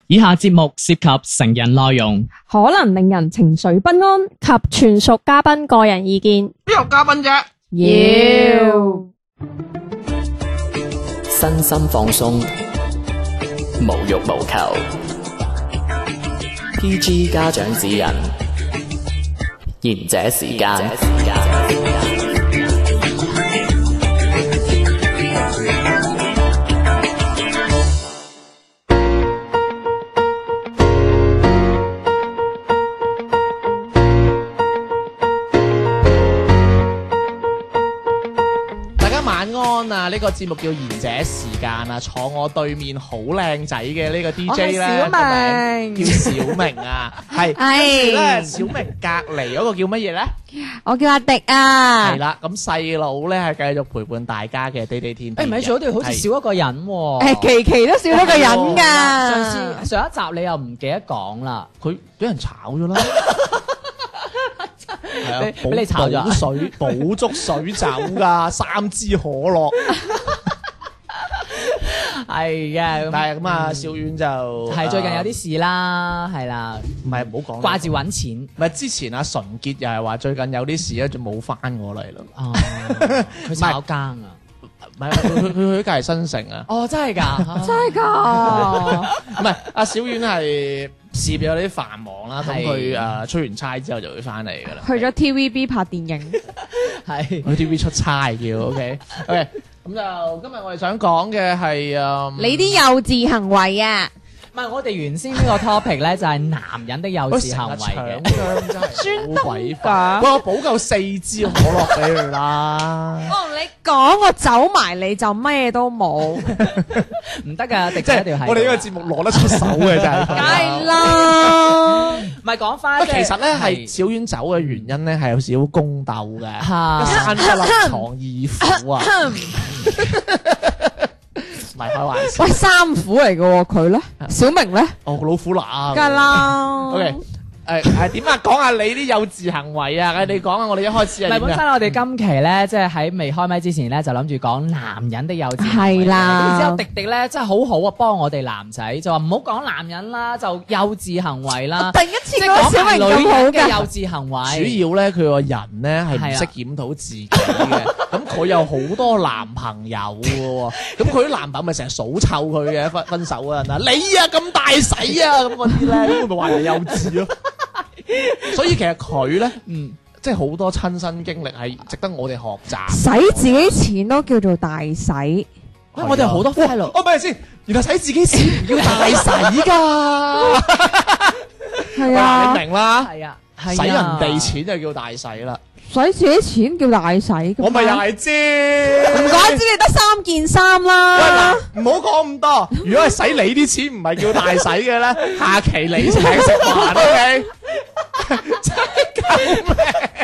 以下節目涉及成人內容， 可能令人情緒不安及全屬嘉賓個人意見。 邊有嘉賓啫？ 要身心放鬆，無欲無求。PG 家長指引，賢者時間。 呢個節目叫賢者時間啊，坐我對面好靚仔嘅呢個 DJ 咧，叫小明啊，係咧小明隔離嗰個叫乜嘢咧？ 我叫阿迪啊， 係啦，咁細佬咧係繼續陪伴大家嘅地地天天。 唔係，做嗰條好似少一個人喎。 期期都少一個人㗎。 上一集你又唔記得講啦， 佢俾人炒咗啦。係啊， 俾你炒咗水補足水酒㗎，3支可樂。 係嘅， 但係咁啊，小丸就係最近有啲事啦，係啦， 唔係唔好講， 掛住揾錢。 唔係之前阿純潔又係話最近有啲事咧，就冇翻過嚟咯。 哦，佢炒更啊？ 唔係，佢去隔離新城啊。 哦，真係㗎， 真係㗎。 唔係，阿小丸係事業有啲繁忙啦，咁佢出完差之後就會翻嚟㗎啦。 去咗 TVB 拍電影， 係去 TV 出差叫 OK。咁就今日我哋想講嘅係你啲幼稚行為啊！ 唔係我哋原先呢個 topic 咧，就係男人的幼稚行為嘅。 搶真係好鬼煩。喂，我補夠4支可樂俾佢啦。 我同你講，我走埋你就咩都冇， 唔得㗎，迪即係一條係。 我哋呢個節目攞得出手嘅真係。 梗係啦。 唔係講翻， 其實咧係小丸走嘅原因咧係有少少宮鬥嘅，一山不立藏二虎啊。唔係開玩笑。 喂，三虎嚟嘅喎，佢咧，小明咧， 哦，老虎乸。 梗係啦。 OK。點啊？講下你啲幼稚行為啊！你講下我哋一開始係點啊？ 本身我哋今期咧，即係喺未開麥之前咧，就諗住講男人的幼稚行為。 係啦。 咁之後迪迪咧真係好好啊，幫我哋男仔就話唔好講男人啦，就幼稚行為啦。 第一次講小明咁好嘅幼稚行為。 主要咧，佢個人咧係唔識檢討自己嘅。咁佢有好多男朋友嘅喎，咁佢啲男朋友咪成日數臭佢嘅，分手嗰陣啊，你啊咁大使啊咁嗰啲咧，咁佢咪話人幼稚咯。所以其實佢咧，即係好多親身經歷係值得我哋學習。 使自己錢都叫做大使， 我哋好多 friend 咯。 哦，咪先，原來使自己錢唔叫大使㗎。 係啊， 你明啦。 係啊， 使人哋錢就叫大使啦。 使自己錢叫大使， 我咪又係知。 唔怪之你得3件衫啦。 喂，唔好講咁多。如果係使你啲錢唔係叫大使嘅咧，下期你請食飯 ，OK？真係救命！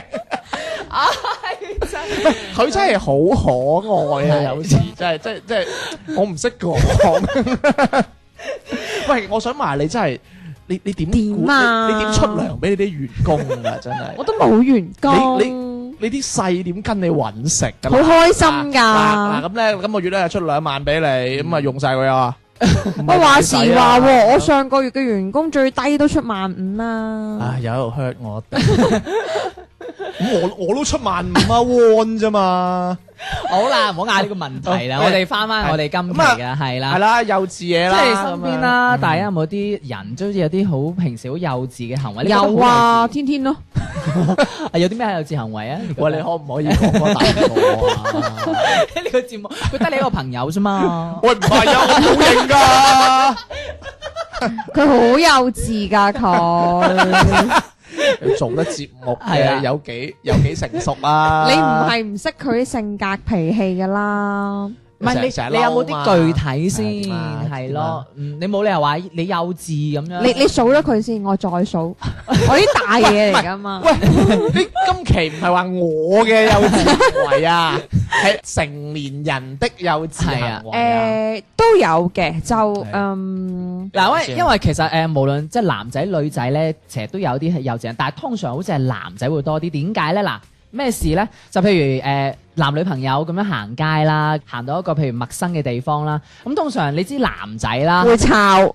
佢真係好可愛啊！有時真係，我唔識講。喂，我想問你真係，你點啊？你點出糧俾你啲員工啊？真係， 我都冇員工。 你啲細點跟你揾食㗎？ 好開心㗎！ 嗱咁咧，今個月咧出2萬俾你，咁啊用晒佢啊！ 我話時話喎，我上個月嘅員工最低都出15,000啦。 唉，有喺度 hurt 我哋。咁我都出15,000啊，one 啫嘛。 好啦，唔好嗌呢個問題啦，我哋翻我哋今期嘅係啦， 係啦，幼稚嘢啦， 即係身邊啦，大家有冇啲人都好似有啲好平時好幼稚嘅行為？ 有啊，天天咯。 有啲咩幼稚行為啊？ 喂，你可唔可以講個大個啊？ 呢個節目佢得你一個朋友啫嘛。 喂，唔係啊，我好認㗎。 佢好幼稚㗎佢。 做得節目嘅有幾成熟啊？ 你唔係唔識佢啲性格脾氣㗎啦。 唔係你有冇啲具體先係咯？你冇理由話你幼稚咁樣。 你數咗佢先，我再數。我啲大嘢嚟㗎嘛。 喂，你今期唔係話我嘅幼稚行為啊，係成年人的幼稚行為啊。 都有嘅，就嗱，因為其實無論即係男仔女仔咧，其實都有啲係幼稚人，但係通常好似係男仔會多啲。點解咧？嗱，咩事咧？就譬如男女朋友咁樣行街啦，行到一個譬如陌生嘅地方啦，咁通常你知男仔啦會吵。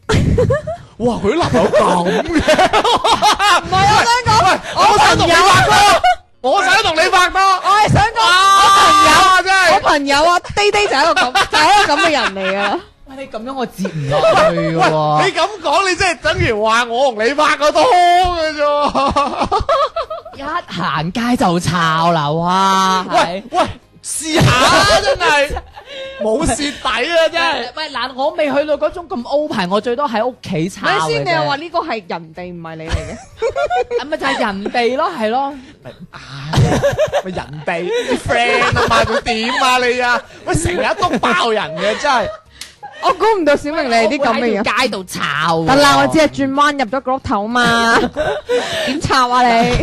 哇！佢啲男朋友咁嘅， 唔係我想講， 喂，我想同你拍拖，我想同你拍拖， 我係想講真係我朋友啊，爹爹就係一個咁，就係一個咁嘅人嚟噶啦。 喂，你咁樣我接唔落去嘅喎。 你咁講，你即係等於話我同你拍過拖嘅啫。 一行街就抄啦，哇！ 喂喂，試下啊，真係冇蝕底啊，真係。 喂嗱，我未去到嗰種咁 open，我最多喺屋企抄嘅啫。 咪先，你又話呢個係人哋唔係你嚟嘅？ 咪就係人哋咯，係咯。 咪人哋啲 friend 啊嘛，佢點啊你啊？喂，成日都爆人嘅真係。 我估唔到小明你係啲咁嘅人。 喺街度抄。 得啦，我只係轉彎入咗個屋頭嘛。點抄啊你？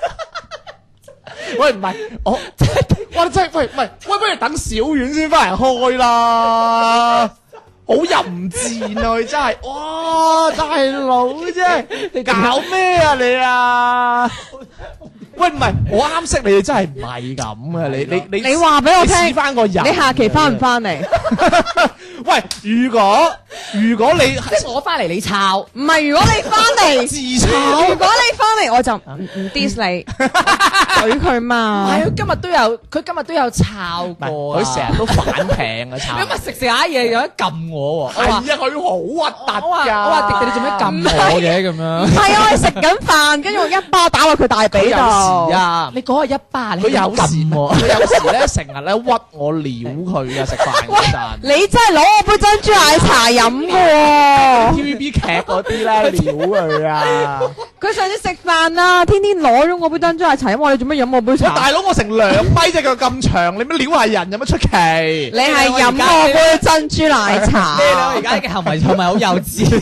喂，唔係我，哇！真係喂，唔係喂，不如等小遠先翻嚟開啦。好淫賤啊！佢真係，哇！大佬真係，你搞咩啊你啊？喂，唔係我啱識你，你真係唔係咁嘅。 你話俾我聽， 試翻個人， 你下期翻唔翻嚟？ 喂，如果你即係我翻嚟你抄， 唔係，如果你翻嚟自抄， 如果你翻嚟我就唔 diss 你，懟佢嘛。 係佢今日都有抄過啊， 佢成日都反艇啊抄。 咁啊食下嘢有得撳我喎， 係啊，佢好核突㗎。 我話迪迪你做咩撳我嘅咁樣？ 係啊，我食緊飯，跟住我一巴打落佢大髀度。 啊！ 你嗰個一巴， 佢有時佢有時咧成日咧屈我撩佢啊！食飯嗰陣， 你真係攞我杯珍珠奶茶飲㗎喎。 TVB 劇嗰啲咧撩佢啊！ 佢上次食飯啊，天天攞咗我杯珍珠奶茶飲，我話你做咩飲我杯茶？ 大佬，我成2米隻腳咁長，你乜撩下人有乜出奇？ 你係飲我杯珍珠奶茶。 你兩個而家嘅行為係咪好幼稚？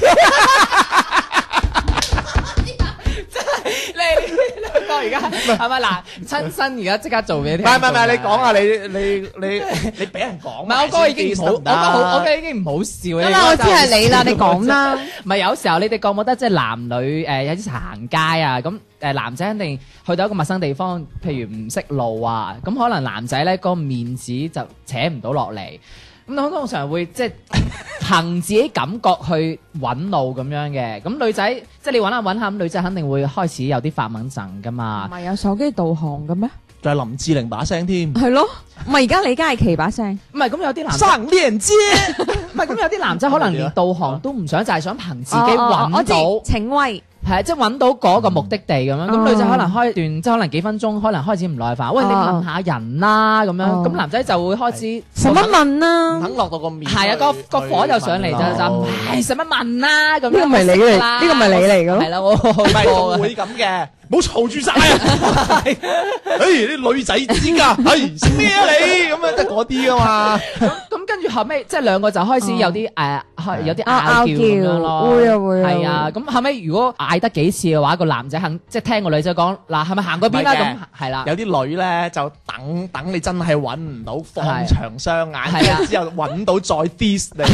你而家係咪嗱親身而家即刻做俾你？ 唔係，你講下你俾人講。 唔係我覺得已經唔好，我覺得已經唔好笑。 得啦，我知係你啦，你講啦。 唔係有時候你哋覺唔覺得即係男女有啲行街啊咁男仔肯定去到一個陌生地方，譬如唔識路啊，咁可能男仔咧個面子就扯唔到落嚟。咁通常會即係憑自己感覺去揾路咁樣嘅，咁女仔即係你揾下揾下，咁女仔肯定會開始有啲發猛陣噶嘛。 唔係有手機導航嘅咩？ 仲係林志玲把聲添。 係咯，唔係而家李嘉琪把聲。 唔係咁有啲男生連接， 唔係咁有啲男仔可能連導航都唔想，就係想憑自己揾我到。 知請威。 係即係揾到嗰個目的地咁樣，咁女仔可能開段即係可能幾分鐘，可能開始唔耐煩。喂，你問下人啦咁樣，咁男仔就會開始使乜問啊？ 肯落到個面。 係啊，個火就上嚟就唉使乜問啦咁樣。 呢個咪你嚟，呢個咪你嚟嘅咯。 係啦，我唔係會咁嘅，唔好嘈住晒啊！啲女仔知㗎，識咩啊你咁樣得嗰啲㗎嘛。 咁跟住後尾即係兩個就開始有啲有啲拗拗撬咁樣咯。 會啊會啊。 係啊，咁後尾如果嗌得幾次嘅話，個男仔肯即係聽個女仔講嗱，係咪行嗰邊啦？咁係啦。 有啲女咧就等你真係揾唔到，放長雙眼，之後揾到再 diss 你。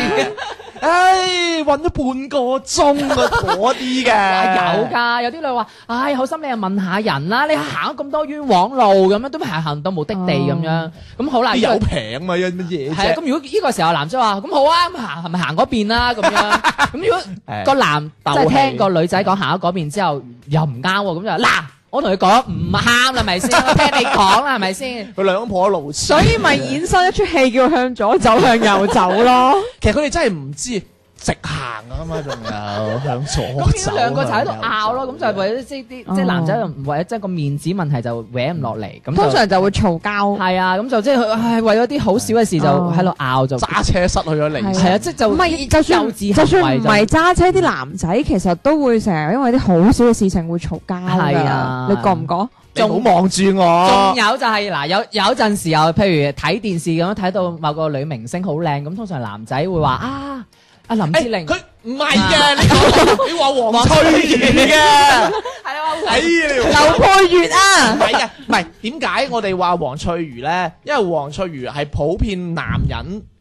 唉，揾咗半個鐘啊，嗰啲嘅有㗎，有啲女話：唉，好心你又問下人啦，你行咗咁多冤枉路咁樣，都未行到目的地咁樣。咁好啦， 有平嘛，有乜嘢啫？ 係啊，咁如果呢個時候男仔話：咁好啊，咁行係咪行嗰邊啦？咁樣。咁如果個男即係聽個女仔講行咗嗰邊之後又唔啱喎，咁就嗱。我同佢講唔啱啦，係咪先？我聽你講啦，係咪先？ 佢兩婆路， 所以咪衍生一出戲叫向左走向右走咯。 其實佢哋真係唔知直行啊嘛，仲有向左走。 咁兩個就喺度拗咯，咁就係為咗即係男仔為咗即係個面子問題就搲唔落嚟，咁通常就會嘈交。係啊，咁就即係唉為咗啲好少嘅事就喺度拗，就揸車失去咗理智。 係啊，即係就唔係就算唔係揸車，啲男仔其實都會成日因為啲好少嘅事情會嘈交㗎。係啊，你覺唔覺？ 仲唔好望住我。 仲有就係嗱，有陣時候，譬如睇電視咁樣睇到某個女明星好靚，咁通常男仔會話啊，阿林志玲， 佢唔係嘅，你話黃翠如嘅， 係啊， 劉佩玥啊， 唔係嘅，唔係點解我哋話黃翠如咧？因為黃翠如係普遍男人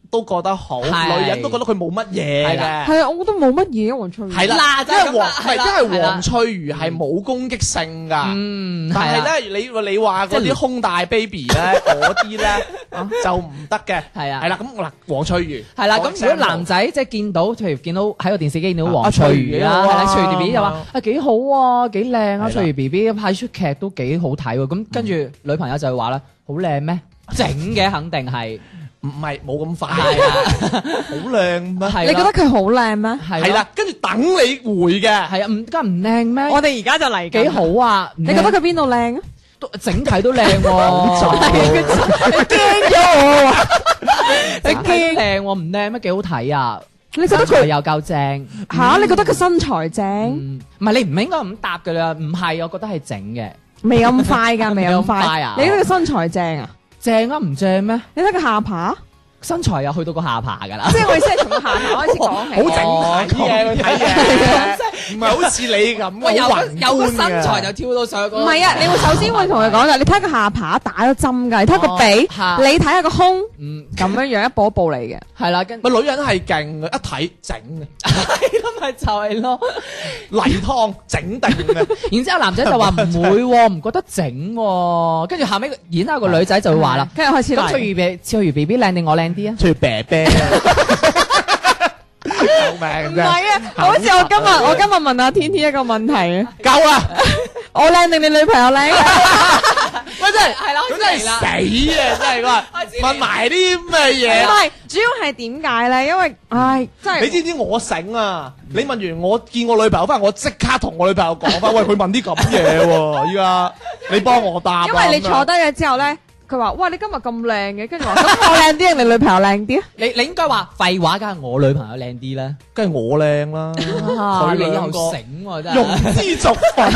都覺得好，女人都覺得佢冇乜嘢嘅。 係啊，我覺得冇乜嘢黃翠如。 係啦，因為黃翠如係冇攻擊性㗎。但係咧，你話嗰啲胸大 baby 咧，嗰啲咧就唔得嘅。係啊，係啦，咁嗱，黃翠如係啦。咁如果男仔即係見到，譬如見到喺個電視機見到黃翠如啦，係啦，翠如 B B 就話啊幾好啊，幾靚啊，翠如 B B 拍出劇都幾好睇喎。咁跟住女朋友就會話啦，好靚咩？整嘅肯定係。 唔係冇咁快啊！好靚咩？ 你覺得佢好靚咩？ 係啦，跟住等你回嘅， 係啊，唔得唔靚咩？ 我哋而家就嚟幾好啊！ 你覺得佢邊度靚啊？ 整體都靚喎，你驚咗我啊！你驚靚喎，唔靚咩？幾好睇啊！ 你覺得佢又夠正嚇？你覺得佢身材正？ 唔係你唔應該咁答㗎啦，唔係，我覺得係整嘅， 未咁快㗎，未咁快啊！ 你覺得佢身材正啊？ 正啊，唔正咩？ 你睇個下巴， 身材又去到個下巴㗎啦。 即係我意思係從個下巴開始講起。 好整體嘅睇嘢，唔係好似你咁。 喂，有個身材就跳到上去。 唔係啊，你會首先會同佢講㗎，你睇個下巴打咗針㗎，你睇個鼻，你睇下個胸，咁樣一步一步嚟嘅。 係啦， 咪女人係勁嘅，一睇整嘅。 係咯，咪就係咯， 例湯整定嘅。 然之後男仔就話唔會喎，唔覺得整喎。跟住後尾然之後個女仔就會話啦， 跟住開始咁翠如 B B 靚定我靚啲啊？ 翠如啤啤，救命！ 唔係啊，好似我今日問阿天天一個問題啊， 夠啦！ 我靚定你女朋友靚？ 喂，真係係啦，咁真係死啊！真係話問埋啲咩嘢？ 唔係，主要係點解咧？因為真係你知唔知我醒啊？你問完我見我女朋友翻，我即刻同我女朋友講翻，喂，佢問啲咁嘢喎，依家你幫我答。 因為你坐低咗之後咧。佢話：哇！你今日咁靚嘅，跟住話咁我靚啲定你女朋友靚啲啊？ 你應該話廢話，梗係我女朋友靚啲啦， 梗係我靚啦。 佢你又醒喎，真係庸脂俗粉。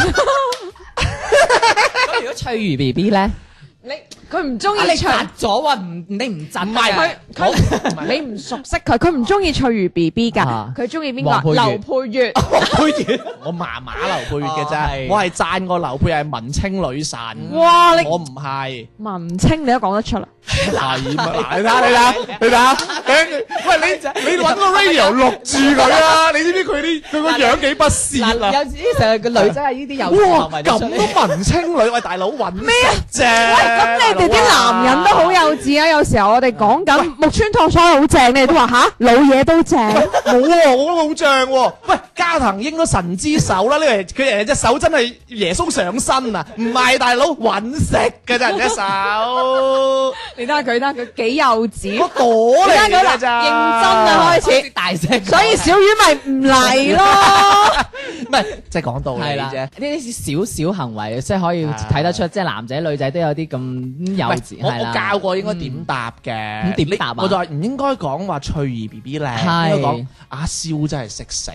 咁如果翠如 B B 咧， 佢唔中意你窒咗喎，你唔窒唔係佢你唔熟悉佢，佢唔中意翠如 B B 㗎，佢中意邊個？劉佩玥。 佩玥，我麻麻劉佩玥嘅啫，我係讚過劉佩玥係文青女神。 哇！ 我唔係文青，你都講得出啦。 係啊！你睇下，喂，你揾個 radio 錄住佢啊！你知唔知佢個樣幾不屑啊？ 有時成日個女仔係呢啲有哇咁都文青女，喂大佬揾咩啫？ 咁你哋啲男人都好幼稚啊！有時候我哋講緊木村拓哉好正，你哋都話吓老嘢都正， 冇喎，我覺得好正喎。喂，加藤鷹都神之手啦，呢個佢隻手真係耶穌上身啊！唔係大佬揾食嘅咋人隻手。 你睇下佢幾幼稚， 我朵嚟㗎咋， 認真啊開始大聲， 所以小魚咪唔嚟咯。 唔係，即係講道理啫。 呢啲少少行為，即係可以睇得出，即係男仔女仔都有啲咁幼稚。 我教過應該點答嘅， 咁點答啊？ 我就話唔應該講話翠如 B B 靚，應該講阿蕭真係識食。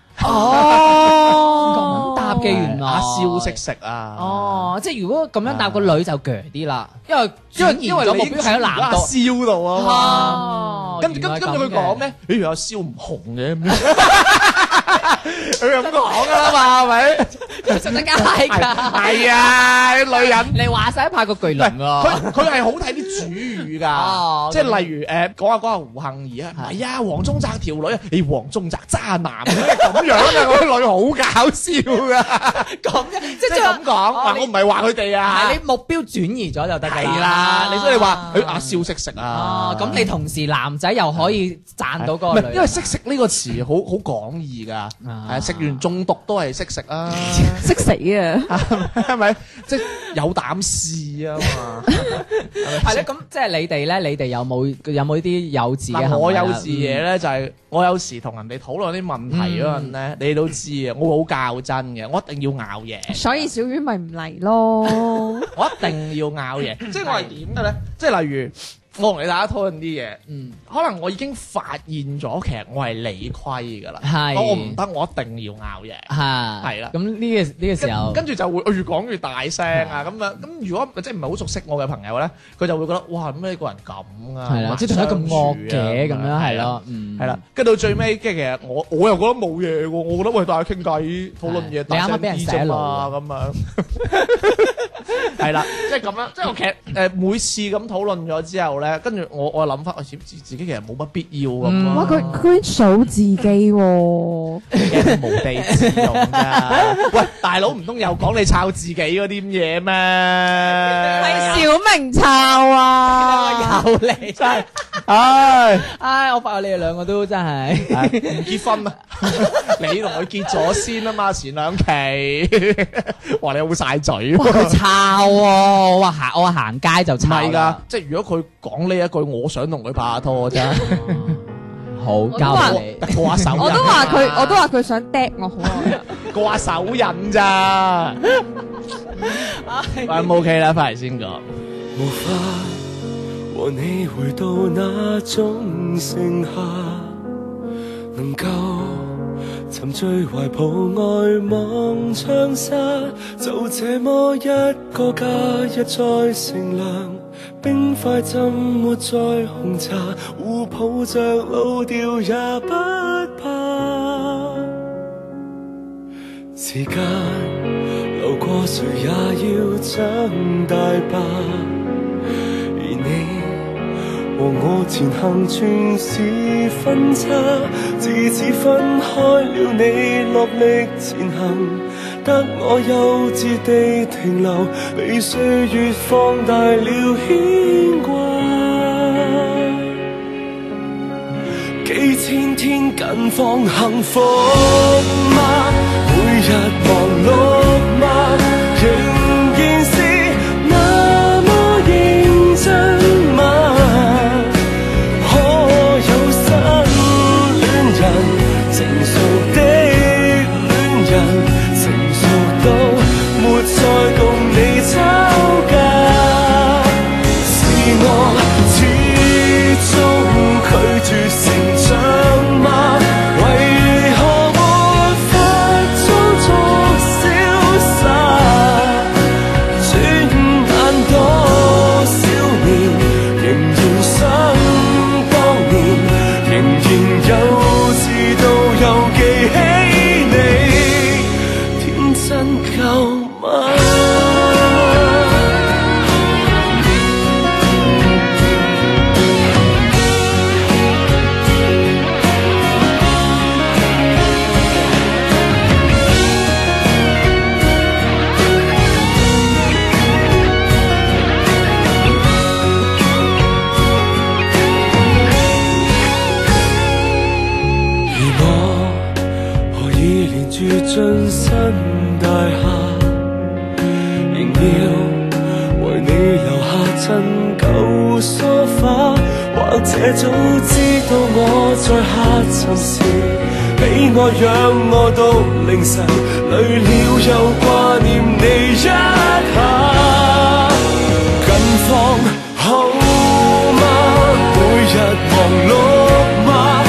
哦，咁答嘅原來阿蕭識食啊！ 哦，即係如果咁樣答個女就鋸啲啦，因為你目標喺男阿蕭度啊嘛。跟住佢講咩？譬如阿蕭唔紅嘅咁樣，佢咁講噶啦嘛，係咪？ 真真係㗎， 係啊！啲女人你話晒拍個巨輪喎， 佢係好睇啲主語㗎，即係例如講下胡杏兒啊，唔係啊，黃宗澤條女啊，你黃宗澤渣男咁樣啊，嗰啲女好搞笑㗎， 咁即係咁講，我唔係話佢哋啊， 係你目標轉移咗就得㗎啦，你所以話佢阿蕭識食啊， 咁你同時男仔又可以賺到嗰個女， 因為識食呢個詞好廣義㗎，係食完中毒都係識食啊。 識死啊， 係咪？即係有膽試啊嘛。 係咧，咁即係你哋咧，你哋有冇啲幼稚嘅行為？ 我幼稚嘢咧就係我有時同人哋討論啲問題嗰陣咧，你都知啊，我會好較真嘅，我一定要拗嘢。 所以小丸咪唔嚟咯。 我一定要拗嘢，即係我係點嘅咧？即係例如。我同你大家討論啲嘢，可能我已經發現咗，其實我係理虧㗎啦。係，我唔得，我一定要拗嘢。係啦。咁呢個時候，跟住就會越講越大聲啊咁樣。咁如果即係唔係好熟悉我嘅朋友咧，佢就會覺得哇咩個人咁啊， 係啦，即係同佢咁惡嘅咁樣係咯，係啦。 跟到最尾，即係其實我又覺得冇嘢喎，我覺得喂大家傾偈討論嘢， 你啱啱俾人洗腦咁樣。係啦，即係咁樣，即係我其實每次咁討論咗之後咧。 咧，跟住我諗翻，我自己其實冇乜必要咁咯。 哇！佢居然數自己喎， 無地自容㗎。喂，大佬唔通又講你抄自己嗰啲嘢咩？ 係小明抄啊！ 有你真係，唉， 我發覺你哋兩個都真係唔結婚啊！你同佢結咗先啊嘛，前兩期，話你好晒嘴哇！佢抄喎，我話行街就唔抄係㗎，即係如果佢講呢一句，我想同佢拍下拖啫。 好交俾你， 過下手印。 我都話佢想嗒我好耐啦。 過下手印咋？喂，冇 OK 啦，翻嚟先講。 無法和你回到那種盛夏，能夠沉醉懷抱外望窗紗，就這麼一個假日再乘涼，冰塊浸沒在紅茶，互抱着老掉也不怕。時間流過，誰也要長大吧。而你和我前行全是分岔，自此分開了，你落力前行，得我幼稚地停留，被歲月放大了牽掛。幾千天近況幸福嗎？每日忙碌嗎？仍然是那麼認真嗎？可有新戀人，成熟的戀人，成熟到沒再共你吵架？是我始終拒絕成長嗎？為何沒法裝作瀟灑？轉眼多少年，仍然想當年，仍然幼稚到又記起你，天真夠嗎？進新大廈，仍要為你留下陳舊梳化，或者早知道我在下沉時，俾我讓我到凌晨，累了又掛念你一下。近況好嗎？每日忙碌嗎？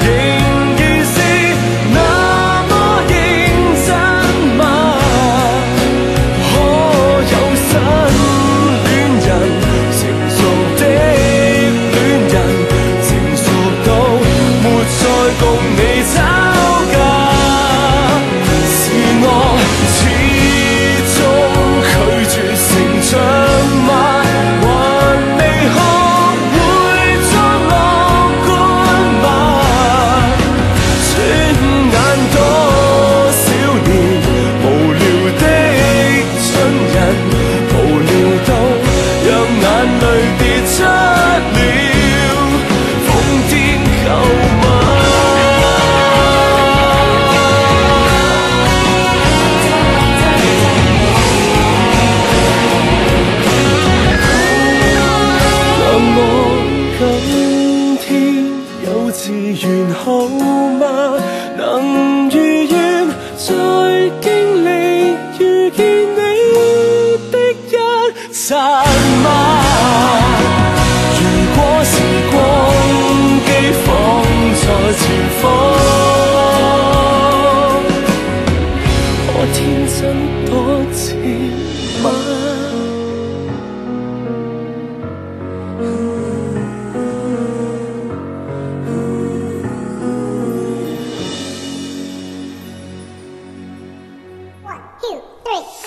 共你吵架，是我始終拒絕成長嗎？還未學會作樂觀嗎？轉眼多少年，無聊的春人，無聊到讓眼淚跌出了，瘋癲夠嗎？完好嗎？能如願再經歷遇見你的一剎嗎？如果時光機放在前方，可天真多次嗎？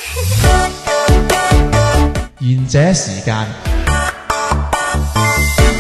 賢者時間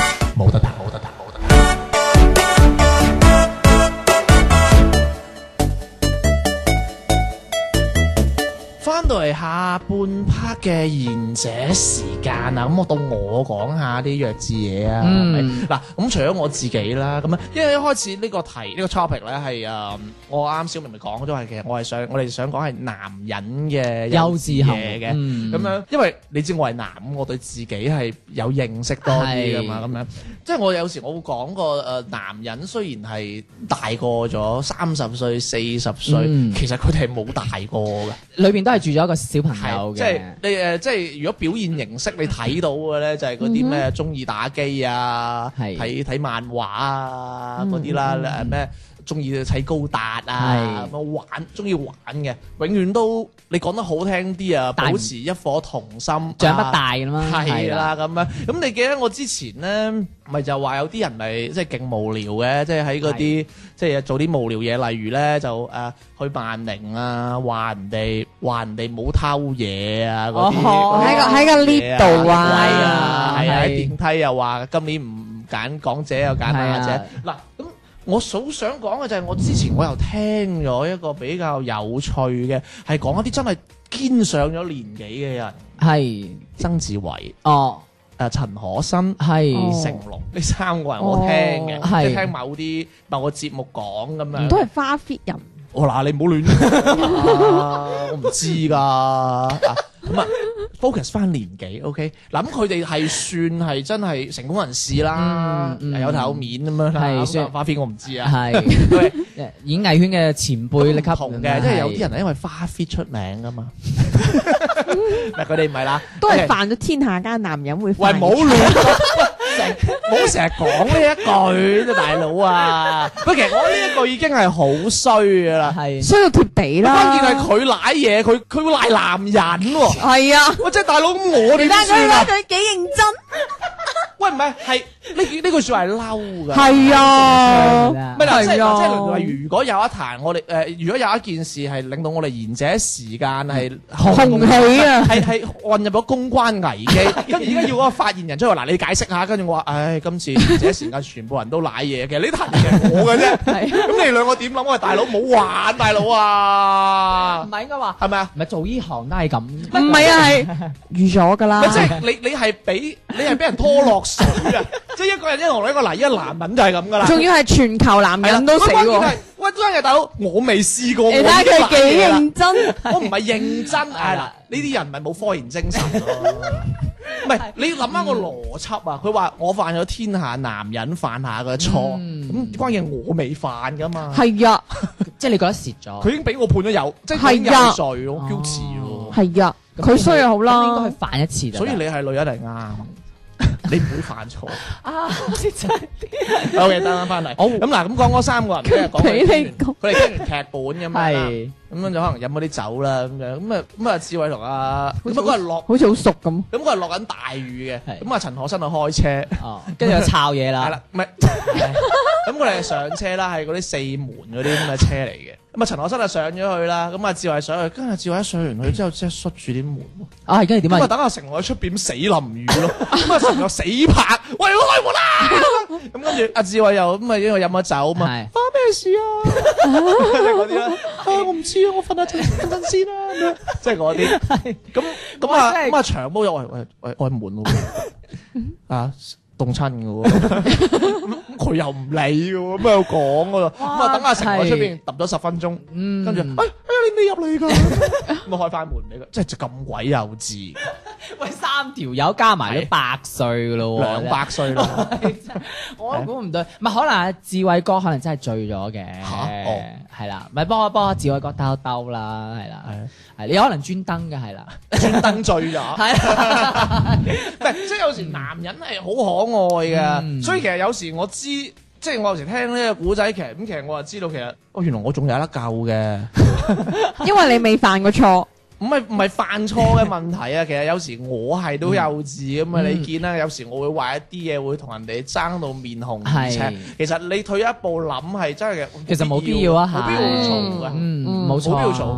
翻到嚟下半 part 嘅賢者時間啊，咁我到我講下啲弱智嘢啊，係咪？嗱，咁除咗我自己啦，咁啊，因為一開始呢個題呢個 topic 咧係我啱小明咪講咗係其實我哋想講係男人嘅幼稚嘢嘅，咁樣，因為你知我係男，我對自己係有認識多啲噶嘛，咁樣，即係我有時我會講個男人雖然係大過咗30歲、40歲，其實佢哋係冇大過嘅， 裏邊都係住咗一個小朋友嘅。 即係你即係如果表現形式你睇到嘅咧，就係嗰啲咩中意打機啊，睇漫畫啊嗰啲啦，咩中意砌高達啊，咁中意玩嘅，永遠都你講得好聽啲啊，保持一顆童心， 長不大咁嘛， 係啦咁樣。咁你記得我之前咧，咪就話有啲人咪即係勁無聊嘅，即係喺嗰啲即係做啲無聊嘢，例如咧就去萬寧啊，話人哋冇偷嘢啊嗰啲， 喺個 lift 度啊， 係啊，喺電梯又話今年唔揀港姐又揀亞姐，嗱咁。我好想講嘅就係我之前我又聽咗一個比較有趣嘅，係講一啲真係堅上咗年紀嘅人，係曾志偉、陳可辛、成龍呢3個人我聽嘅，即係聽某個節目講咁樣， 都係花 fit 人。 嗱你唔好亂講，我唔知㗎。咁啊 focus 翻年紀 ，OK， 嗱咁佢哋係算係真係成功人士啦，有頭有面咁樣啦。算花 fit 我唔知啊，係演藝圈嘅前輩級同嘅，即係有啲人係因為花 fit 出名㗎嘛。嗱佢哋唔係啦， 都係犯咗天下間男人會犯。 喂，冇亂唔好成日講呢一句啫，大佬啊！不過其實我呢一句已經係好衰㗎啦，係衰到貼地啦。 關鍵係佢賴嘢，佢會賴男人喎。 係啊， 喂，即係大佬咁我哋點算啊？ 佢幾認真。 喂，唔係，係呢句説話係嬲㗎。 係啊， 咪嗱，即係例如，如果有一壇我哋如果有一件事係令到我哋賢者時間係紅起啊， 係混入咗公關危機，跟住而家要嗰個發言人出嚟，嗱你解釋下，跟住我話，唉，今次賢者時間全部人都賴嘢嘅，呢壇係我嘅啫。咁你兩個點諗？我話大佬冇玩，大佬啊， 唔係應該話係咪啊？ 唔係做呢行都係咁， 唔係啊，係預咗㗎啦。 即係你係俾人拖落水啊！即係一個人一同一個嗱，一個男人就係咁噶啦。仲要係全球男人都死喎。 喂，真係大佬，我未試過。 你睇下佢幾認真。 我唔係認真，係啦，呢啲人咪冇科研精神咯。唔係，你諗翻個邏輯啊！佢話我犯咗天下男人犯下嘅錯，咁關鍵我未犯噶嘛。係啊， 即係你覺得蝕咗。 佢已經俾我判咗有，即係有罪咯，guilty咯。 係啊，佢衰又好啦， 應該去犯一次。 所以你係女人嚟啱。你唔會犯錯啊！真係 OK，得翻嚟。好咁嗱，咁講嗰3個人，即係講佢哋聽完劇本咁樣，咁樣就可能飲嗰啲酒啦，咁樣咁啊，志偉同阿咁嗰日落， 好似好熟咁。 咁嗰日落緊大雨嘅，咁啊陳可辛就開車， 跟住就抄嘢啦。係啦， 唔係，咁我哋上車啦，係嗰啲4門嗰啲咁嘅車嚟嘅。咁啊陳可辛就上咗去啦，咁啊志偉上去，跟住志偉一上完去之後，即係塞住啲門。 跟住點啊？ 咁啊等阿成喺出邊死淋雨咯，咁啊成個死拍，喂開門啦！咁跟住阿志偉又咁啊，因為飲咗酒嘛，發咩事啊？即係嗰啲啦，我唔知啊，我瞓下陣先啦，即係嗰啲。咁啊長毛又喂開門咯，啊凍親嘅喎，佢又唔理嘅喎，咁又講嘅喎，咁啊等阿成喺出邊揼咗10分鐘，跟住你未入嚟㗎，咁啊開翻門俾佢，即係就咁鬼幼稚。 喂，3條友加埋都100歲嘅咯喎 ，200歲咯， 我估唔對，唔係可能阿志偉哥可能真係醉咗嘅，係啦，咪幫阿志偉哥兜啦，係啦，係你可能專登嘅，係啦， 專登醉咗，係，唔係即係有時男人係好可愛嘅，所以其實有時我知，即係我有時聽呢個古仔劇，咁其實我就知道其實原來我仲有得救嘅， 因為你未犯過錯。 唔係犯錯嘅問題啊，其實有時我係都幼稚咁啊，你見啦，有時我會話一啲嘢會同人哋爭到面紅耳赤，其實你退一步諗係真係嘅， 其實冇必要啊， 冇必要嘈嘅， 冇必要嘈。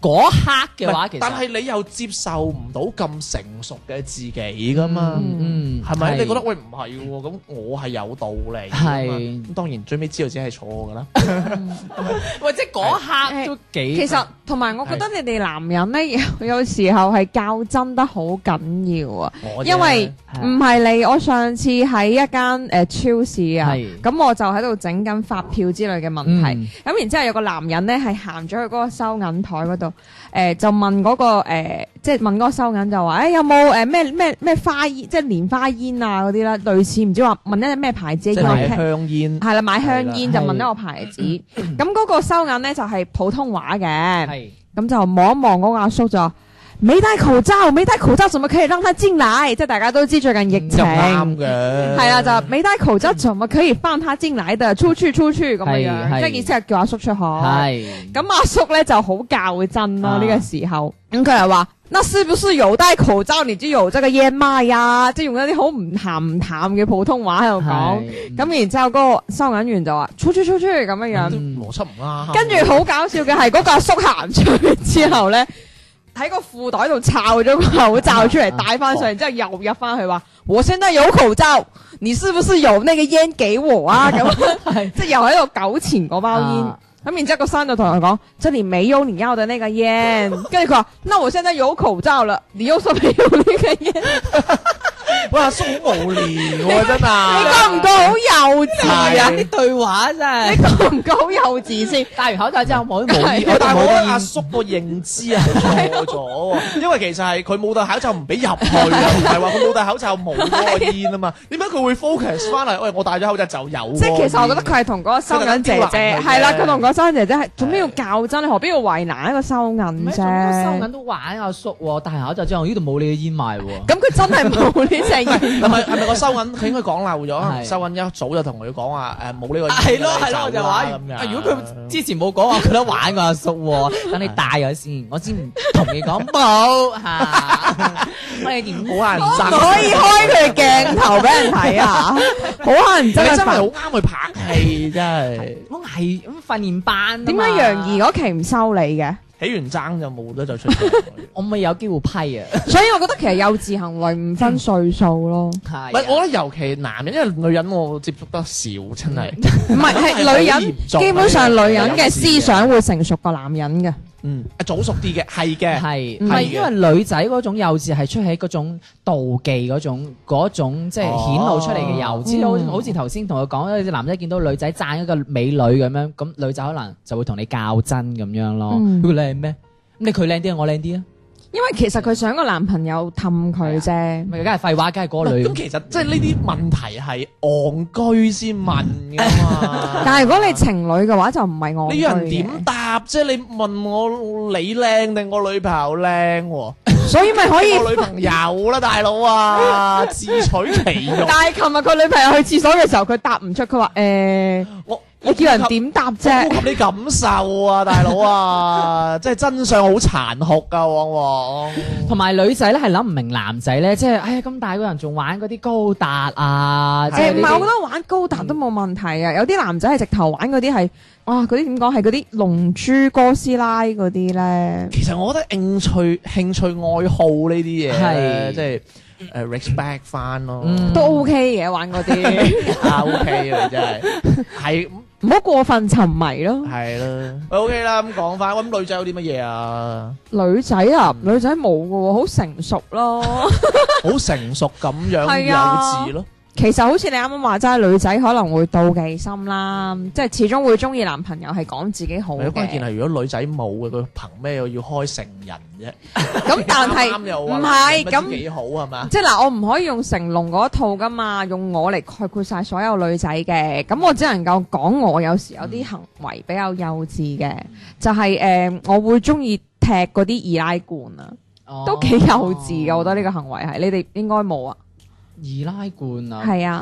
嗰刻嘅話，其實但係你又接受唔到咁成熟嘅自己噶嘛？係咪？你覺得喂唔係喎？咁我係有道理。係咁，當然最尾知道自己係錯㗎啦。 喂，即係嗰刻都幾。 其實同埋我覺得你哋男人咧，有時候係較真得好緊要啊。因為唔係你，我上次喺一間超市啊，咁我就喺度整緊發票之類嘅問題。咁然之後有個男人咧係行咗去嗰個收銀台嗰度，就問嗰個即係問嗰個收銀就話，有冇咩花煙，即係蓮花煙啊嗰啲啦，類似唔知話問一隻咩牌子嘅買香煙， 係啦，買香煙就問一個牌子。咁嗰個收銀咧就係普通話嘅，咁就望一望嗰個阿叔就話：沒戴口罩，沒戴口罩，怎麼可以讓他進來？即係大家都知最近疫情， 啱嘅， 係啊，就沒戴口罩，怎麼可以放他進來的？出去咁樣，即係意思係叫阿叔出去。咁阿叔咧就好較真咯，呢個時候，咁佢又話：那是不是有戴口罩你就有這個煙賣呀？即係用一啲好唔鹹唔淡嘅普通話喺度講。咁然之後嗰個收銀員就話：出去咁樣， 邏輯唔啱。 跟住好搞笑嘅係嗰個阿叔行出去之後咧，喺個褲袋度抄咗個口罩出嚟戴翻上，然之後又入翻去話：我現在有口罩，你是不是有那個煙給我啊？咁即係又喺度糾纏嗰包煙。咁然之後個生就同佢講：這裡沒有你要的那個煙。跟住佢話：那我現在有口罩了，你又說沒有那個煙。 哇，阿叔好無聊喎，真係。 你覺唔覺好幼稚啊？ 啲對話真係。 你覺唔覺好幼稚先？ 戴完口罩之後冇煙， 但係我覺得阿叔個認知係錯咗，因為其實係佢冇戴口罩唔俾入去啊，唔係話佢冇戴口罩冇嗰個煙啊嘛。點解佢會 focus 翻嚟？喂，我戴咗口罩就有。即係其實我覺得佢係同嗰個收銀姐姐係啦，佢同嗰收銀姐姐係做咩要較真？你何必要為難一個收銀啫？ 收銀都玩阿叔喎，戴口罩之後呢度冇你嘅煙賣喎。 咁佢真係冇呢隻煙。 係咪個收銀佢應該講漏咗？收銀一早就同佢講話冇呢個煙。係咯，我就話咁樣。如果佢之前冇講話，覺得玩個阿叔喎，等你戴咗先，我先唔同你講冇嚇。我哋點好乞人憎？ 可以開佢鏡頭俾人睇啊！好乞人憎， 真係好啱佢拍戲，真係。 我係咁訓練班。 點解楊怡嗰期唔收你嘅？ 起完爭就冇得再出。 我咪有機會批啊！ 所以我覺得其實幼稚行為唔分歲數咯。 係，唔係我覺得尤其男人，因為女人我接觸得少，真係。 唔係係女人，基本上女人嘅思想會成熟過男人嘅。 早熟啲嘅，係嘅， 係唔係因為女仔嗰種幼稚係出喺嗰種妒忌嗰種即係顯露出嚟嘅幼稚，好似頭先同佢講，男仔見到女仔讚一個美女咁樣，咁女仔可能就會同你較真咁樣咯。佢靚咩？咁佢靚啲，我靚啲啊？ 因為其實佢想個男朋友氹佢啫， 咪梗係廢話，梗係嗰個女。 咁其實即係呢啲問題係戇居先問噶嘛。 但係如果你情侶嘅話就唔係戇居嘅。 你人點答啫？你問我你靚定我女朋友靚喎？ 所以咪可以我女朋友啦，大佬啊，自取其辱。 但係琴日佢女朋友去廁所嘅時候，佢答唔出，佢話我叫人點答啫？ 顧及你感受啊，大佬啊，即係真相好殘酷噶，往往。 同埋女仔咧係諗唔明男仔咧，即係哎呀咁大個人仲玩嗰啲高達啊！ 唔係，我覺得玩高達都冇問題啊。有啲男仔係直頭玩嗰啲係，哇嗰啲點講係嗰啲龍珠哥斯拉嗰啲咧。 其實我覺得興趣愛好呢啲嘢係即係。respect 翻咯， 都 OK 嘅玩嗰啲 ，OK 嘅真係唔好過分沉迷咯。 係啦 ，OK 啦，咁講翻，咁女仔有啲乜嘢啊？ 女仔啊，女仔冇㗎喎，好成熟咯， 好成熟咁樣幼稚咯。 其實好似你啱啱話齋，女仔可能會妒忌心啦，即係始終會中意男朋友係講自己好嘅。 關鍵係如果女仔冇嘅，佢憑咩要開成人啫？ 咁但係唔係咁幾好係嘛？ 即係嗱，我唔可以用成龍嗰一套噶嘛，用我嚟概括晒所有女仔嘅。咁我只能夠講我有時有啲行為比較幼稚嘅，就係我會中意踢嗰啲易拉罐啊，都幾幼稚嘅。我覺得呢個行為係你哋應該冇啊。 易拉罐啊， 係啊，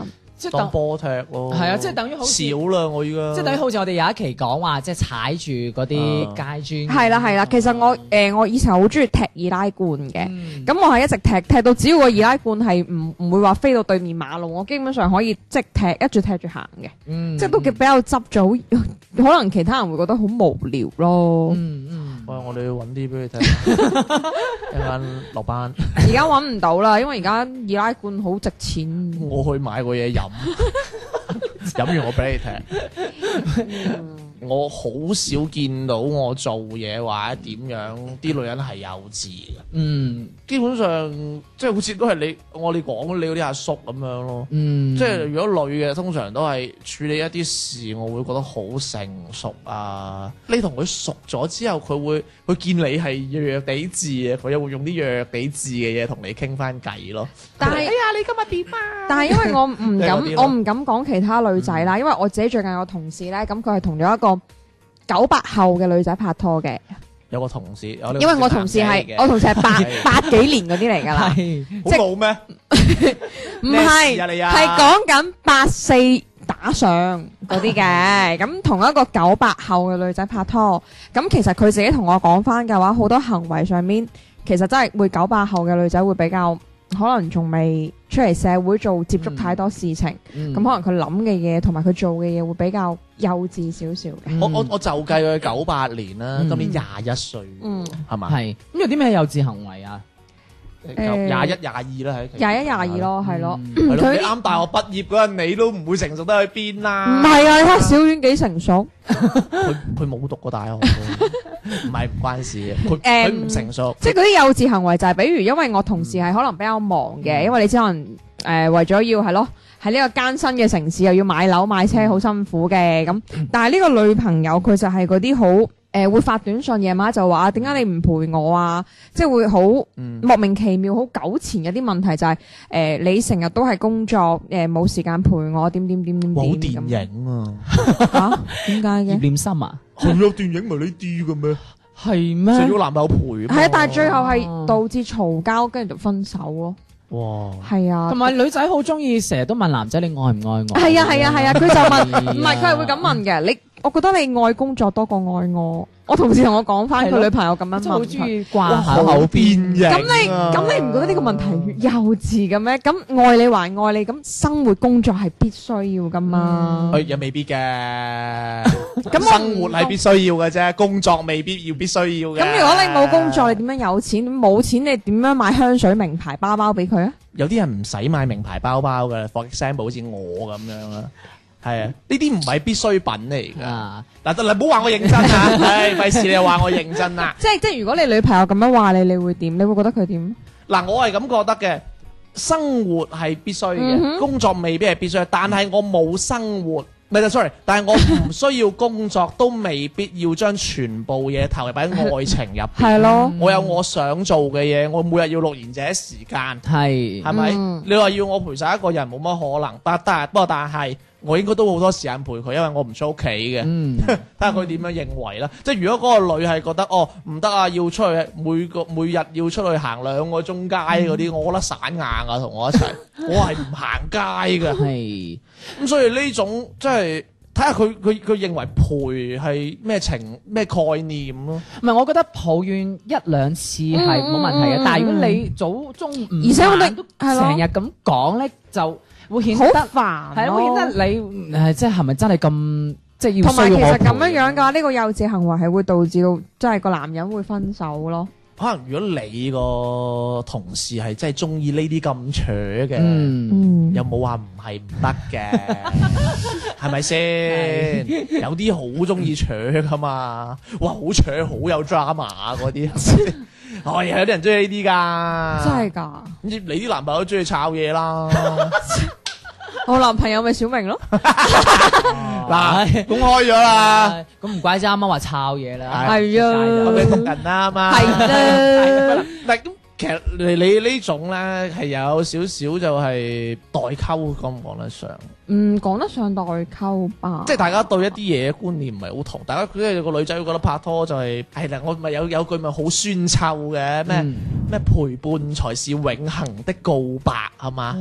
即係當波踢咯。 係啊，即係等於好似少啦，我依家即係等於好似我哋有一期講話，即係踩住嗰啲街磚。 係啦，其實我以前好中意踢易拉罐嘅，咁我係一直踢到只要個易拉罐係唔會話飛到對面馬路，我基本上可以即係一直踢住行嘅，即係都比較執咗，可能其他人會覺得好無聊咯。 喂，我哋要揾啲俾佢睇，一陣落班。 而家揾唔到啦，因為而家易拉罐好值錢。 我去買個嘢飲，飲完我俾你踢。我好少見到我做嘢或者點樣啲女人係幼稚嘅。基本上即係好似都係你我哋講你嗰啲阿叔咁樣咯。即係如果女嘅通常都係處理一啲事，我會覺得好成熟啊。你同佢熟咗之後，佢見你係弱地字嘅，佢又會用啲弱地字嘅嘢同你傾翻偈咯。 但係，哎呀，你今日點啊？但係因為我唔敢講其他女仔啦，因為我自己最近有個同事咧，咁佢係同咗一個98後嘅女仔拍拖嘅。 有個同事， 因為我同事係八幾年嗰啲嚟㗎啦， 好老咩？ 唔係，係講緊84打上嗰啲嘅。咁同一個98後嘅女仔拍拖，咁其實佢自己同我講翻嘅話，好多行為上面其實真係會98後嘅女仔會比較可能仲未出嚟社會做接觸太多事情，咁可能佢諗嘅嘢同埋佢做嘅嘢會比較幼稚少少嘅。 我就計佢98年啦，今年21歲，係嘛？ 係咁有啲咩幼稚行為啊 ？21、22啦，喺 21、22咯，係咯。 佢啱大學畢業嗰陣，你都唔會成熟得去邊啦。 唔係啊，你睇小丸幾成熟。 佢冇讀過大學，唔關事嘅。佢唔成熟。 即係嗰啲幼稚行為就係，比如因為我同事係可能比較忙嘅，因為你知可能為咗要係咯喺呢個艱辛嘅城市又要買樓買車好辛苦嘅咁，但係呢個女朋友佢就係嗰啲好。會發短信夜晚就話點解你唔陪我啊？即係會好莫名其妙好糾纏嘅啲問題就係你成日都係工作冇時間陪我點好電影啊嚇點解嘅？ 葉念琛啊？ 係有電影咪呢啲嘅咩？ 係咩？ 成咗男朋友陪係啊，但係最後係導致嘈交跟住就分手咯。 哇！ 係啊， 同埋女仔好中意成日都問男仔你愛唔愛我？ 係啊，佢就問，唔係佢係會咁問嘅。我覺得你愛工作多過愛我。我同事同我講翻佢女朋友咁樣問， 好中意掛喺口邊嘅。 咁你唔覺得呢個問題幼稚嘅咩？咁愛你還愛你，咁生活工作係必須要噶嘛？ 又未必嘅。咁生活係必須要嘅啫，工作未必必須要嘅。 咁如果你冇工作，你點樣有錢？冇錢你點樣買香水名牌包包俾佢啊？ 有啲人唔使買名牌包包嘅，for example 好似我咁樣啦。係啊，呢啲唔係必需品嚟噶。嗱，得啦，唔好話我認真啊！唉，費事你又話我認真啦。 即係，如果你女朋友咁樣話你，你會點？你會覺得佢點？ 嗱，我係咁覺得嘅。生活係必須嘅，工作未必係必須。但係我冇生活，唔係 sorry， 但係我唔需要工作，都未必要將全部嘢投入喺愛情入邊。 係咯， 我有我想做嘅嘢，我每日要錄賢者時間，係咪？你話要我陪晒一個人冇乜可能，不過但係。我應該都好多時間陪佢，因為我唔出屋企嘅。睇下佢點樣認為啦。即係如果嗰個女係覺得唔得啊，要出去每日要出去行2個鐘街嗰啲，我覺得散硬啊，同我一齊，我係唔行街嘅。係咁，所以呢種即係睇下佢認為陪係咩概念咯。 唔係，我覺得抱怨1-2次係冇問題嘅，但係如果你早中午而且我哋都成日咁講咧，就會顯得煩， 係會顯得你即係咪真係咁即係要？ 同埋其實咁樣嘅話，呢個幼稚行為係會導致到即係個男人會分手咯。 可能如果你個同事係真係中意呢啲咁扯嘅，有冇話唔係唔得嘅？係咪先？有啲好中意扯噶嘛？哇，好扯，好有 drama 嗰啲。係有啲人中意呢啲噶， 真係噶。 你啲男朋友都中意炒嘢啦。 我男朋友咪小明咯。 嗱，公開咗啦。 咁唔怪之啱啱話炒嘢啦。 係啊， 我哋讀人啦嘛。 係啦。 但咁其實你呢種咧係有少少就係代溝，講唔講得上？ 講得上代溝吧。 即係大家對一啲嘢觀念唔係好同，大家即係個女仔會覺得拍拖就係啦，我咪有句咪好酸臭嘅咩陪伴才是永恆的告白係嘛？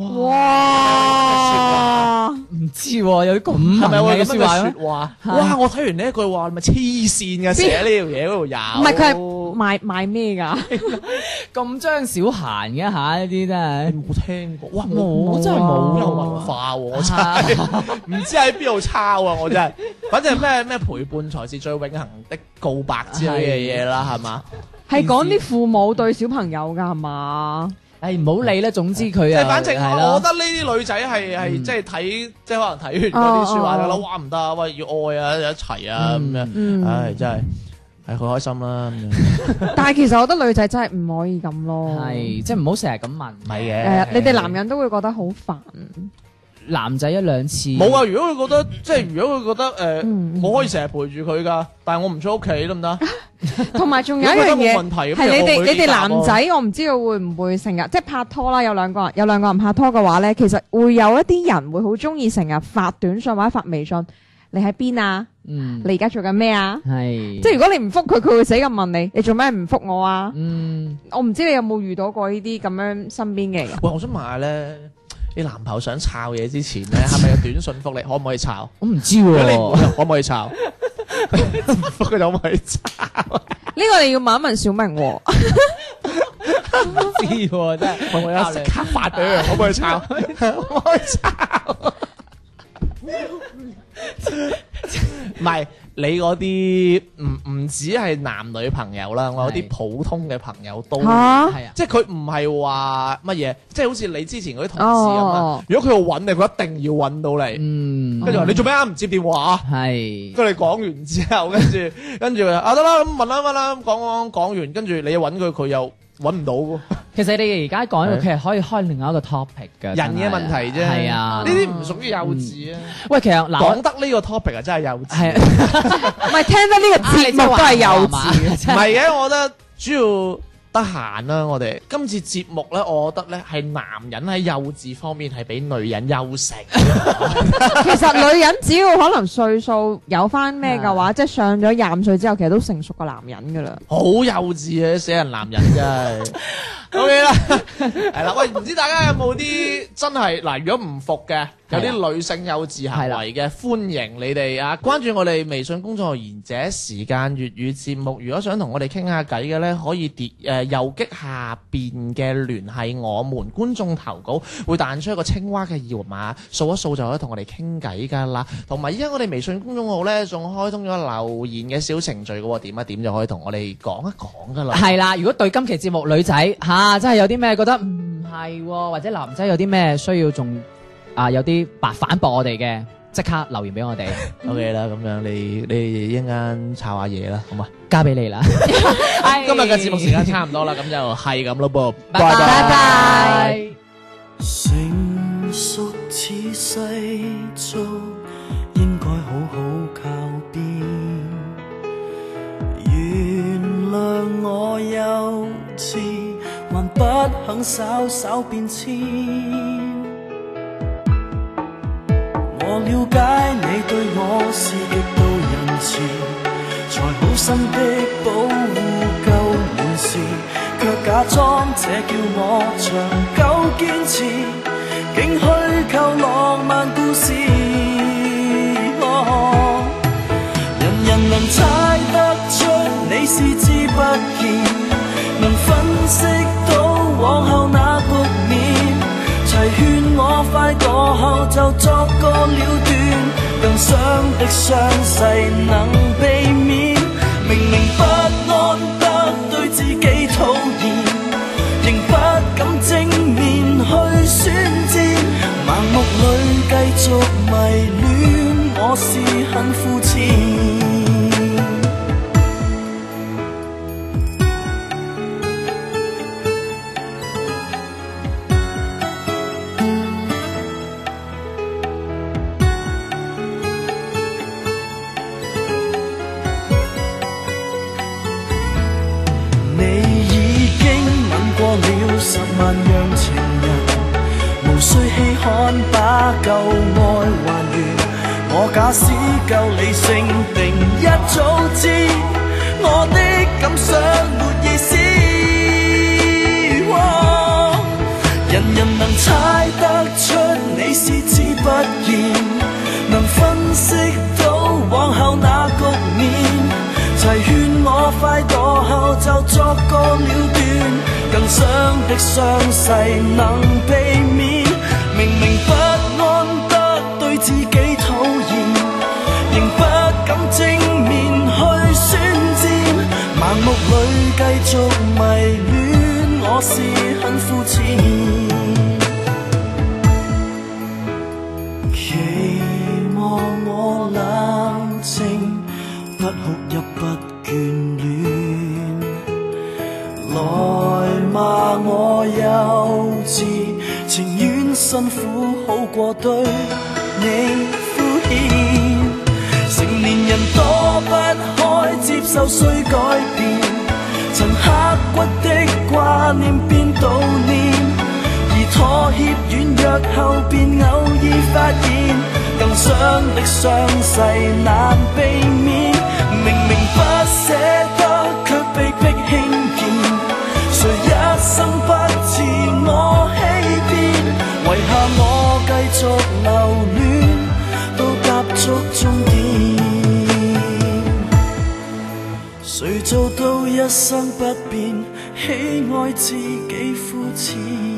哇！ 唔知喎，有啲咁係咪會咁樣嘅嘅説話咩？ 説話？哇！我睇完呢一句話，你咪黐線嘅，寫呢條嘢嗰度有。 唔係佢係賣咩㗎？ 咁張小嫻嘅嚇，呢啲真係你冇聽過？哇！ 我真係冇有文化喎，我真係唔知喺邊度抄啊！我真係，反正咩陪伴才是最永恆的告白之類嘅嘢啦，係嘛？ 係講啲父母對小朋友㗎係嘛？ 誒唔好理啦，總之佢即係反正係我覺得呢啲女仔係即係睇，即係可能睇完嗰啲説話就覺得哇唔得啊，喂要愛啊一齊啊咁樣，唉真係。係佢開心啦咁樣， 但係其實我覺得女仔真係唔可以咁咯， 係即係唔好成日咁問， 唔係嘅。 你哋男人都會覺得好煩。 男仔一兩次冇啊！如果佢覺得即係如果佢覺得我可以成日陪住佢㗎，但係我唔出屋企得唔得？ 同埋仲有一樣嘢係你哋男仔， 啊我唔知道會唔會成日即係拍拖啦，有兩個人拍拖嘅話咧，其實會有一啲人會好中意成日發短信或者發微信，你喺邊啊？你而家做緊咩啊？ 係即係如果你唔覆佢，佢會死咁問你，你做咩唔覆我啊？我唔知你有冇遇到過呢啲咁樣身邊嘅人。 喂，我想問下咧，你男朋友想抄嘢之前咧，係咪有短信覆你？可唔可以抄？ 我唔知如果你喎， 唔覆可唔可以抄？覆佢就可唔可以抄？ 呢個你要問一問小明喎。 唔知喎，真係可唔可以即刻發俾佢？可唔可以抄？可唔可以抄？唔係你嗰啲唔止係男女朋友啦，我有啲普通嘅朋友都係啊，即係佢唔係話乜嘢，即係好似你之前嗰啲同事咁啊。如果佢要揾你，佢一定要揾到你。跟住話你做咩啊？唔接電話。 係。 跟住你講完之後，跟住啊得啦，咁問啦，講完，跟住你揾佢，佢又揾唔到喎。 其實你哋而家講呢個，其實可以開另外一個 topic 㗎。 人嘅問題啫。係啊，呢啲唔屬於幼稚啊。 喂，其實嗱， 講得呢個 topic 啊，真係幼稚。 係唔係聽得呢個節目都係幼稚。 唔係嘅，我覺得主要得閒啦。我哋今次節目咧，我覺得咧係男人喺幼稚方面係比女人優勝。 其實女人只要可能歲數有翻咩嘅話，即係上咗25歲之後，其實都成熟過男人噶啦。 好幼稚啊！死人男人真係。OK 啦，係啦。喂，唔知大家有冇啲真係嗱？如果唔服嘅，有啲女性幼稚行為嘅，歡迎你哋啊！關注我哋微信公眾號賢者時間粵語節目。如果想同我哋傾下偈嘅咧，可以右擊下邊嘅聯繫我們觀眾投稿，會彈出一個青蛙嘅二維碼，掃一掃就可以同我哋傾偈噶啦。同埋依家我哋微信公眾號咧，仲開通咗留言嘅小程序嘅喎，點一點就可以同我哋講一講噶啦。 係啦，如果對今期節目女仔真係有啲咩覺得唔係喎，或者男仔有啲咩需要仲有啲反駁我哋嘅，即刻留言俾我哋。 OK 啦，咁樣你一陣間炒下嘢啦，好嘛？ 交俾你啦。 今日嘅節目時間差唔多啦，咁就係咁咯噃， 拜拜。 成熟似世俗，應該好好靠邊。原諒我幼稚，還不肯稍稍變遷。我了解你對我是極度仁慈，才好心的保護夠滿時，卻假裝這叫我長久堅持，竟虛構浪漫故事。人人能猜得出你是知不見，能分析到往後那局面，齊勸我快過後就作個了斷，更傷的傷勢能避免。明明不安得對自己討厭，仍不敢正面去宣戰，盲目裏繼續迷戀，我是很膚淺。10萬樣情人，無需稀罕把舊愛還原。我假使夠理性，定一早知我的感想沒意思。 齊勸我快墮後就作個了斷，更想的傷勢能避免。明明不安得對自己討厭，仍不敢正面去宣戰，盲目裏繼續迷戀，我是很膚淺。期望我冷靜，不哭泣不眷戀，來罵我幼稚，情願辛苦好過對你敷衍。成年人躲不開接受需改變，曾刻骨的掛念變悼念，而妥協軟弱後便偶爾發現，更傷的傷勢難避免。明明不捨得，卻被迫輕見，誰一生不自我欺騙？遺下我繼續留戀，到踏足終點。誰做到一生不變，喜愛自己膚淺？